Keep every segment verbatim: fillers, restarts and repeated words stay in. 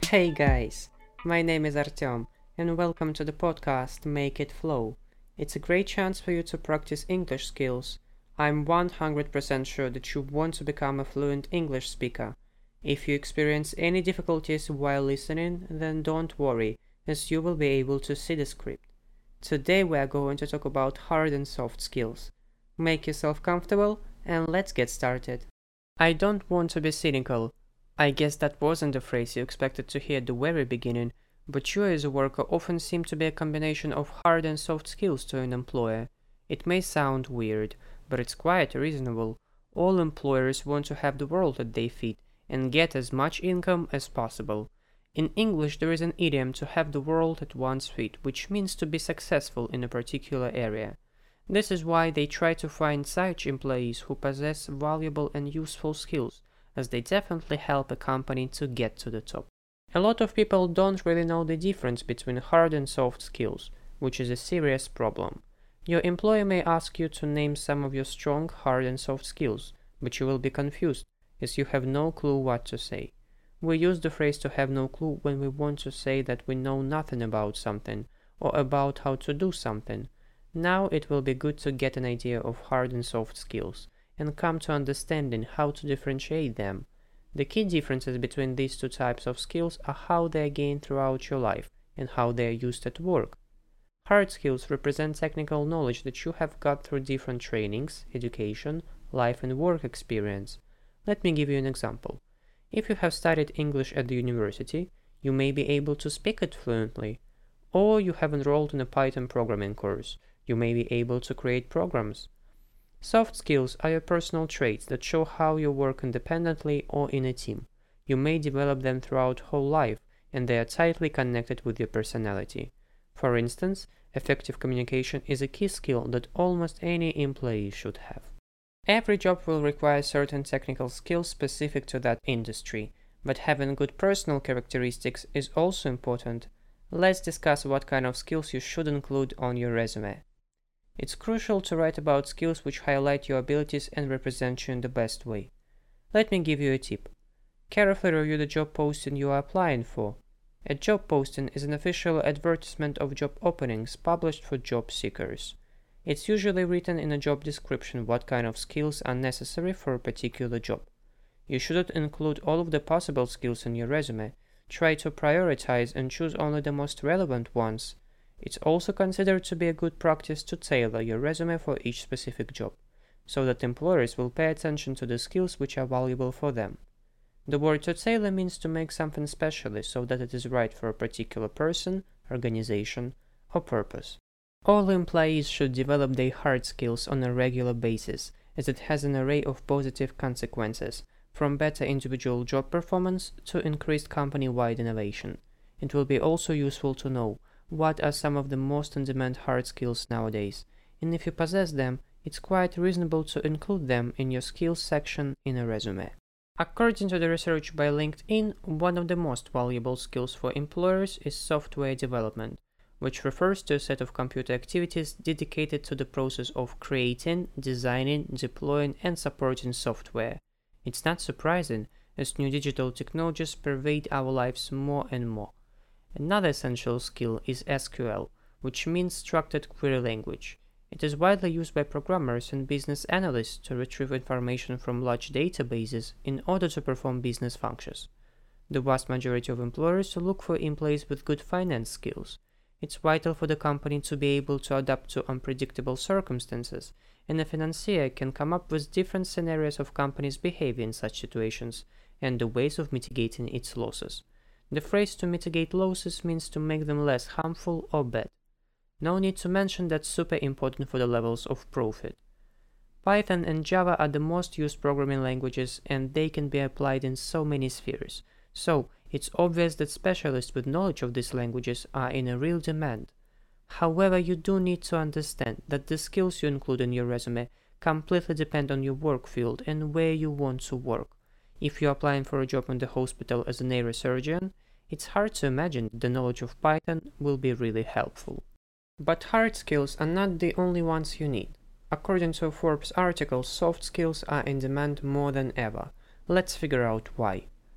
Hey guys, my name is Artyom, and welcome to the podcast Make It Flow. It's a great chance for you to practice English skills. I'm one hundred percent sure that you want to become a fluent English speaker. If you experience any difficulties while listening, then don't worry, as you will be able to see the script. Today we are going to talk about hard and soft skills. Make yourself comfortable and let's get started. I don't want to be cynical. I guess that wasn't the phrase you expected to hear at the very beginning, but you as a worker often seem to be a combination of hard and soft skills to an employer. It may sound weird, but it's quite reasonable. All employers want to have the world at their feet and get as much income as possible. In English, there is an idiom to have the world at one's feet, which means to be successful in a particular area. This is why they try to find such employees who possess valuable and useful skills, as they definitely help a company to get to the top. A lot of people don't really know the difference between hard and soft skills, which is a serious problem. Your employer may ask you to name some of your strong hard and soft skills, but you will be confused, as you have no clue what to say. We use the phrase to have no clue when we want to say that we know nothing about something, or about how to do something. Now it will be good to get an idea of hard and soft skills, and come to understanding how to differentiate them. The key differences between these two types of skills are how they are gained throughout your life and how they are used at work. Hard skills represent technical knowledge that you have got through different trainings, education, life and work experience. Let me give you an example. If you have studied English at the university, you may be able to speak it fluently. Or you have enrolled in a Python programming course, you may be able to create programs. Soft skills are your personal traits that show how you work independently or in a team. You may develop them throughout whole life, and they are tightly connected with your personality. For instance, effective communication is a key skill that almost any employee should have. Every job will require certain technical skills specific to that industry, but having good personal characteristics is also important. Let's discuss what kind of skills you should include on your resume. It's crucial to write about skills which highlight your abilities and represent you in the best way. Let me give you a tip. Carefully review the job posting you are applying for. A job posting is an official advertisement of job openings published for job seekers. It's usually written in a job description what kind of skills are necessary for a particular job. You shouldn't include all of the possible skills in your resume. Try to prioritize and choose only the most relevant ones. It's also considered to be a good practice to tailor your resume for each specific job, so that employers will pay attention to the skills which are valuable for them. The word to tailor means to make something specially so that it is right for a particular person, organization, or purpose. All employees should develop their hard skills on a regular basis, as it has an array of positive consequences, from better individual job performance to increased company-wide innovation. It will be also useful to know what are some of the most in-demand hard skills nowadays, and if you possess them, it's quite reasonable to include them in your skills section in a resume. According to the research by LinkedIn, one of the most valuable skills for employers is software development, which refers to a set of computer activities dedicated to the process of creating, designing, deploying, and supporting software. It's not surprising, as new digital technologies pervade our lives more and more. Another essential skill is S Q L, which means Structured Query Language. It is widely used by programmers and business analysts to retrieve information from large databases in order to perform business functions. The vast majority of employers look for employees with good finance skills. It's vital for the company to be able to adapt to unpredictable circumstances, and a financier can come up with different scenarios of companies' behavior in such situations and the ways of mitigating its losses. The phrase to mitigate losses means to make them less harmful or bad. No need to mention that's super important for the levels of profit. Python and Java are the most used programming languages, and they can be applied in so many spheres. So, it's obvious that specialists with knowledge of these languages are in a real demand. However, you do need to understand that the skills you include in your resume completely depend on your work field and where you want to work. If you're applying for a job in the hospital as a neurosurgeon, it's hard to imagine that the knowledge of Python will be really helpful. But hard skills are not the only ones you need. According to a Forbes article, soft skills are in demand more than ever. Let's figure out why.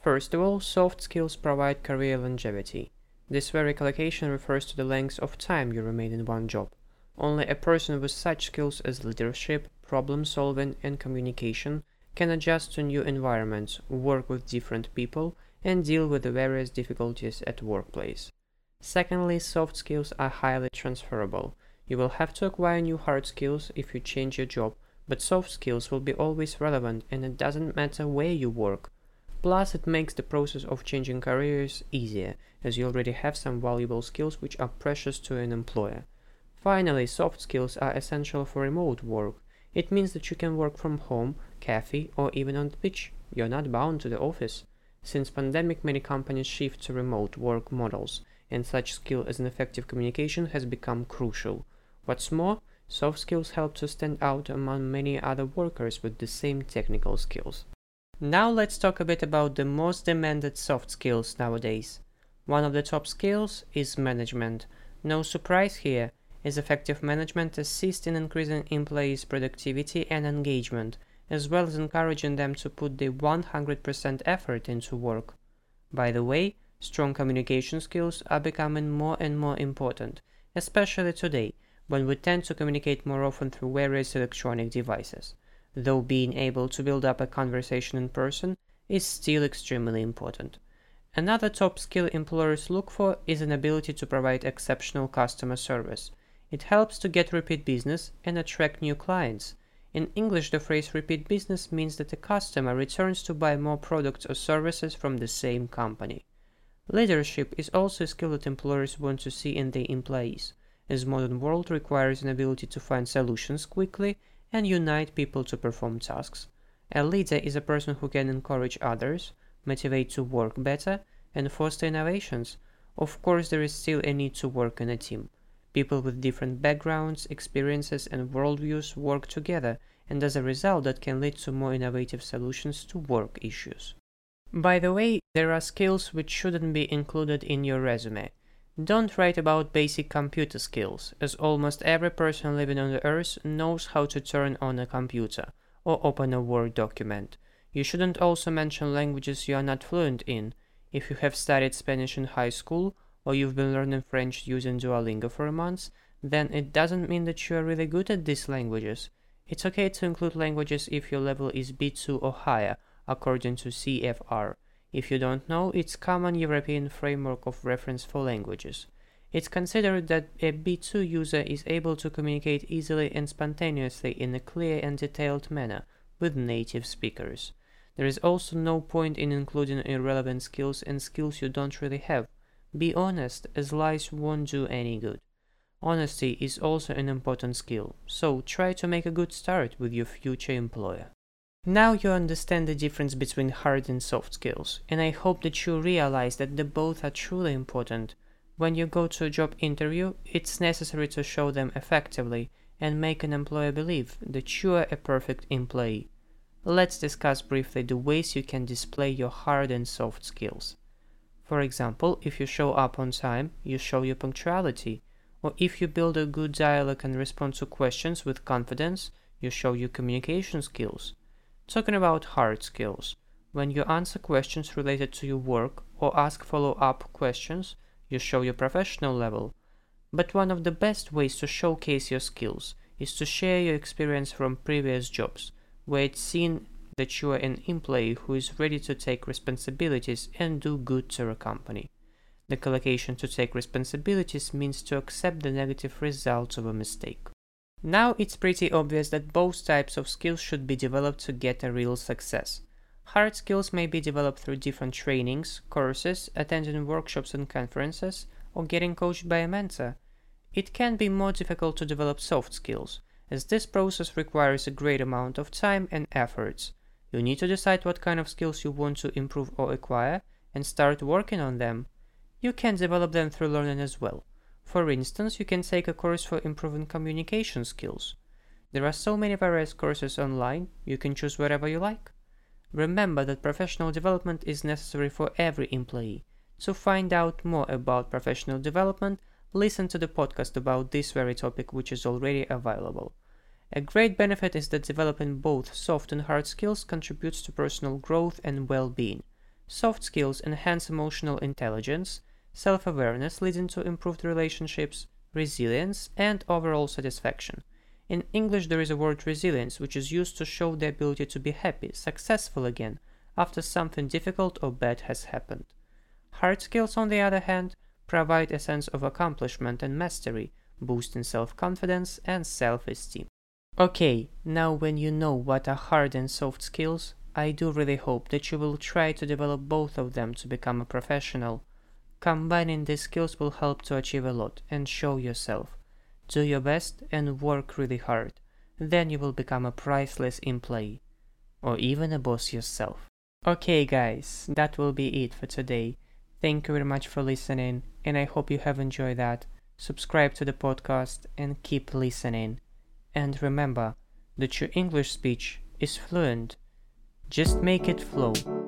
First of all, soft skills provide career longevity. This very collocation refers to the length of time you remain in one job. Only a person with such skills as leadership, problem solving, and communication can adjust to new environments, work with different people, and deal with the various difficulties at workplace. Secondly, soft skills are highly transferable. You will have to acquire new hard skills if you change your job, but soft skills will be always relevant, and it doesn't matter where you work. Plus, it makes the process of changing careers easier, as you already have some valuable skills which are precious to an employer. Finally, soft skills are essential for remote work. It means that you can work from home, cafe, or even on the beach. You're not bound to the office. Since pandemic, many companies shift to remote work models, and such skill as an effective communication has become crucial. What's more, soft skills help to stand out among many other workers with the same technical skills. Now let's talk a bit about the most demanded soft skills nowadays. One of the top skills is management. No surprise here, as effective management assists in increasing employees' productivity and engagement, as well as encouraging them to put the one hundred percent effort into work. By the way, strong communication skills are becoming more and more important, especially today, when we tend to communicate more often through various electronic devices, though being able to build up a conversation in person is still extremely important. Another top skill employers look for is an ability to provide exceptional customer service. It helps to get repeat business and attract new clients. In English, the phrase repeat business means that a customer returns to buy more products or services from the same company. Leadership is also a skill that employers want to see in their employees, as modern world requires an ability to find solutions quickly and unite people to perform tasks. A leader is a person who can encourage others, motivate to work better, and foster innovations. Of course, there is still a need to work in a team. People with different backgrounds, experiences, and worldviews work together, and as a result, that can lead to more innovative solutions to work issues. By the way, there are skills which shouldn't be included in your resume. Don't write about basic computer skills, as almost every person living on the earth knows how to turn on a computer or open a Word document. You shouldn't also mention languages you are not fluent in. If you have studied Spanish in high school, or you've been learning French using Duolingo for a month, then it doesn't mean that you are really good at these languages. It's okay to include languages if your level is B two or higher, according to C F R. If you don't know, it's common European framework of reference for languages. It's considered that a B two user is able to communicate easily and spontaneously in a clear and detailed manner with native speakers. There is also no point in including irrelevant skills and skills you don't really have. Be honest, as lies won't do any good. Honesty is also an important skill, so try to make a good start with your future employer. Now you understand the difference between hard and soft skills, and I hope that you realize that the both are truly important. When you go to a job interview, it's necessary to show them effectively and make an employer believe that you are a perfect employee. Let's discuss briefly the ways you can display your hard and soft skills. For example, if you show up on time, you show your punctuality, or if you build a good dialogue and respond to questions with confidence, you show your communication skills. Talking about hard skills, when you answer questions related to your work or ask follow-up questions, you show your professional level. But one of the best ways to showcase your skills is to share your experience from previous jobs, where it's seen that you are an employee who is ready to take responsibilities and do good to a company. The collocation to take responsibilities means to accept the negative results of a mistake. Now it's pretty obvious that both types of skills should be developed to get a real success. Hard skills may be developed through different trainings, courses, attending workshops and conferences, or getting coached by a mentor. It can be more difficult to develop soft skills, as this process requires a great amount of time and efforts. You need to decide what kind of skills you want to improve or acquire and start working on them. You can develop them through learning as well. For instance, you can take a course for improving communication skills. There are so many various courses online, you can choose whatever you like. Remember that professional development is necessary for every employee. To find out more about professional development, listen to the podcast about this very topic, which is already available. A great benefit is that developing both soft and hard skills contributes to personal growth and well-being. Soft skills enhance emotional intelligence, self-awareness leading to improved relationships, resilience, and overall satisfaction. In English, there is a word resilience, which is used to show the ability to be happy, successful again, after something difficult or bad has happened. Hard skills, on the other hand, provide a sense of accomplishment and mastery, boosting self-confidence and self-esteem. Okay, now when you know what are hard and soft skills, I do really hope that you will try to develop both of them to become a professional. Combining these skills will help to achieve a lot and show yourself. Do your best and work really hard. Then you will become a priceless employee. Or even a boss yourself. Okay guys, that will be it for today. Thank you very much for listening, and I hope you have enjoyed that. Subscribe to the podcast and keep listening. And remember that your English speech is fluent. Just make it flow.